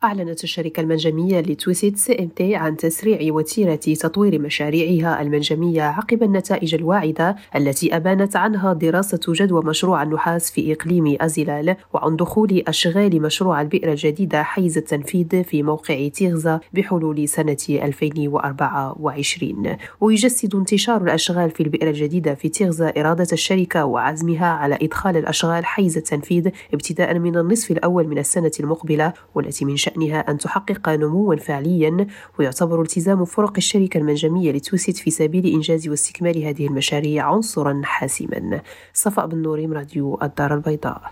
أعلنت الشركة المنجمية لتويسيت CMT عن تسريع وتيرة تطوير مشاريعها المنجمية عقب النتائج الواعدة التي أبانت عنها دراسة جدوى مشروع النحاس في إقليم أزلال، وعن دخول أشغال مشروع البئر الجديدة حيز التنفيذ في موقع تيغزا بحلول سنة 2024. ويجسد انتشار الأشغال في البئر الجديدة في تيغزا إرادة الشركة وعزمها على إدخال الأشغال حيز التنفيذ ابتداء من النصف الأول من السنة المقبلة، والتي من شأنها أن تحقق نموا فعليا. ويعتبر التزام فرق الشركة المنجمية لتويسيت في سبيل إنجاز واستكمال هذه المشاريع عنصرا حاسما. صفاء بن نوريم، راديو الدار البيضاء.